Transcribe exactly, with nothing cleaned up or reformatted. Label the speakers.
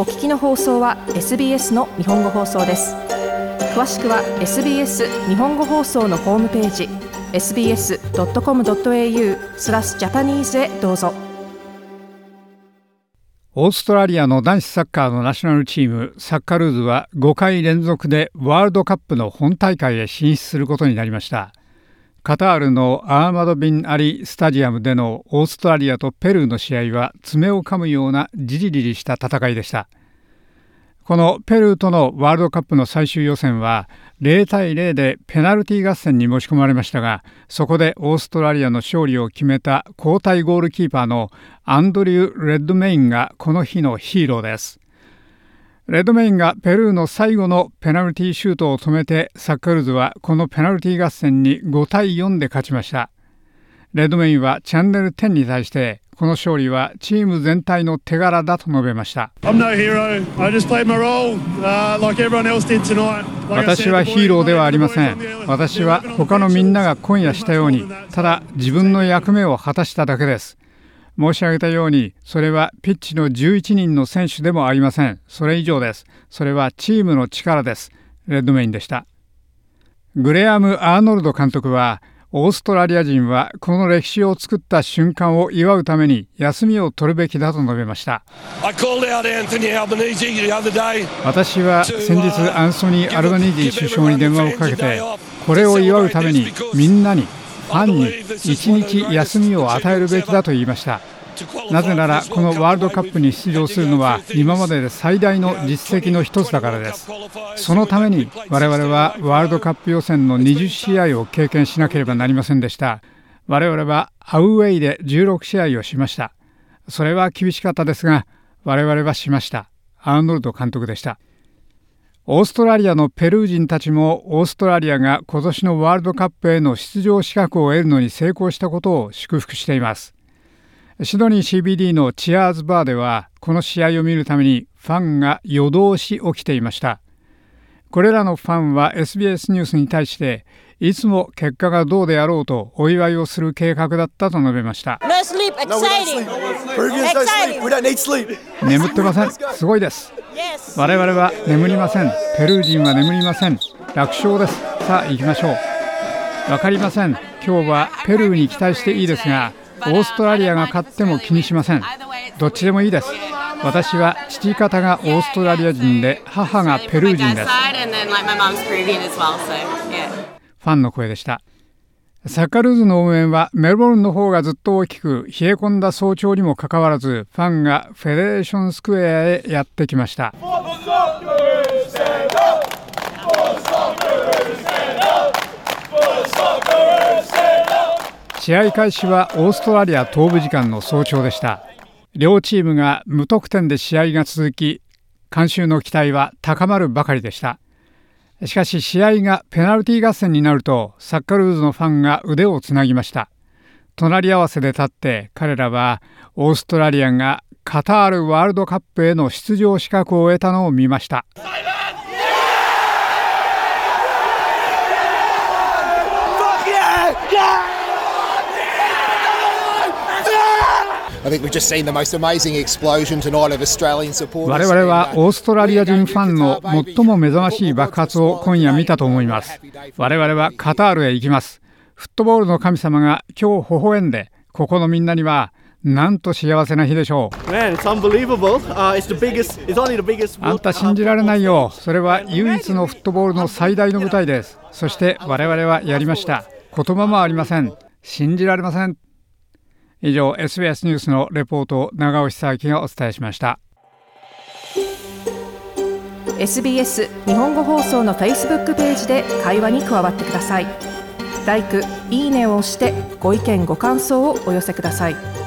Speaker 1: お聞きの放送は エスビーエス の日本語放送です。詳しくは エスビーエス 日本語放送のホームページ エスビーエスドットコムドットエーユー スラスジャパニーズへどうぞ。
Speaker 2: オーストラリアの男子サッカーのナショナルチームサッカルーズはごかい連続でワールドカップの本大会へ進出することになりました。カタールのアーマド・ビン・アリスタジアムでのオーストラリアとペルーの試合は爪を噛むようなじりじりした戦いでした。このペルーとのワールドカップの最終予選はゼロたいゼロでペナルティ合戦に持ち込まれましたが、そこでオーストラリアの勝利を決めた交代ゴールキーパーのアンドリュー・レッドメインがこの日のヒーローです。レッドメインがペルーの最後のペナルティシュートを止めて、サッカルーズはこのペナルティ合戦にごたいよんで勝ちました。レッドメインはチャンネルテンに対してこの勝利はチーム全体の手柄だと述べました。私はヒーローではありません。私は他のみんなが今夜したように、ただ自分の役目を果たしただけです。申し上げたように、それはピッチのじゅういちにんの選手でもありません。それ以上です。それはチームの力です。レッドメインでした。グレアム・アーノルド監督は、オーストラリア人はこの歴史を作った瞬間を祝うために休みを取るべきだと述べました。私は先日アンソニー・アルバニージー首相に電話をかけて、これを祝うためにみんなにファンに一日休みを与えるべきだと言いました。なぜならこのワールドカップに出場するのは今までで最大の実績の一つだからです。そのために我々はワールドカップ予選のにじゅっしあいを経験しなければなりませんでした。我々はアウェイでじゅうろくしあいをしました。それは厳しかったですが我々はしました。アーノルド監督でした。オーストラリアのペルー人たちもオーストラリアが今年のワールドカップへの出場資格を得るのに成功したことを祝福しています。シドニー シービーディー のチアーズバーではこの試合を見るためにファンが夜通し起きていました。これらのファンは エスビーエス ニュースに対していつも結果がどうであろうとお祝いをする計画だったと述べました。
Speaker 3: No sleep, exciting. Exciting.
Speaker 2: 眠ってません。すごいです。我々は眠りません。ペルー人は眠りません。楽勝です。さあ行きましょう。わかりません。今日はペルーに期待していいですが、オーストラリアが勝っても気にしません。どっちでもいいです。私は父方がオーストラリア人で母がペルー人です。ファンの声でした。サッカルーズの応援はメルボルンの方がずっと大きく、冷え込んだ早朝にもかかわらずファンがフェデレーションスクエアへやってきました。試合開始はオーストラリア東部時間の早朝でした。両チームが無得点で試合が続き、観衆の期待は高まるばかりでした。しかし試合がペナルティ合戦になるとサッカルーズのファンが腕をつなぎました。隣り合わせで立って彼らはオーストラリアがカタールワールドカップへの出場資格を得たのを見ました。
Speaker 4: 我々
Speaker 2: はオーストラリア人ファンの最も目覚ましい爆発を今夜見たと思います。我々はカタールへ行きます。フットボールの神様が今日微笑んで、ここのみんなにはなんと幸せな日でしょう。
Speaker 5: Man, it's unbelievable. Uh, it's the biggest, it's only the biggest.
Speaker 2: あんた信じられないよ。それは唯一のフットボールの最大の舞台です。そして我々はやりました。言葉もありません。信じられません。以上 エスビーエス ニュースのレポートを長尾久明がお伝えしました。
Speaker 1: エスビーエス 日本語放送の Facebook ページで会話に加わってください。ライク、いいねを押してご意見ご感想をお寄せください。